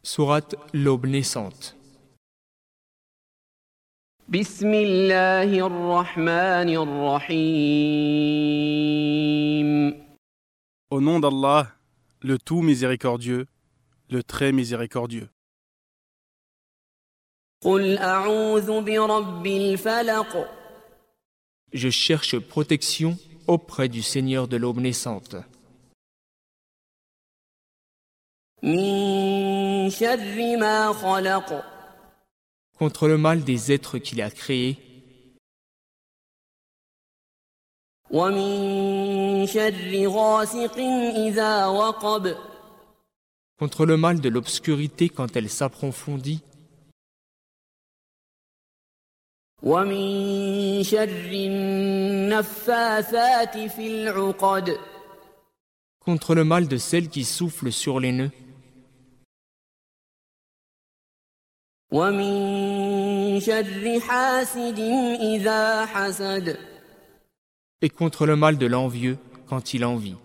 Sourate L'aube naissante. بسم الله الرحمن الرحيم. Au nom d'Allah, le tout miséricordieux, le très miséricordieux. قل أعوذ برب الفلق. Je cherche protection auprès du Seigneur de l'aube naissante. من شر ما خلق. Contre le mal des êtres qu'il a créés. ومن شر غاسق إذا وقب. Contre le mal de l'obscurité quand elle s'approfondit. ومن شر النفاثات في العقد. Contre le mal de celle qui souffle sur les nœuds. ومن شر حاسد إذا حسد. Et contre le mal de l'envieux quand il envie.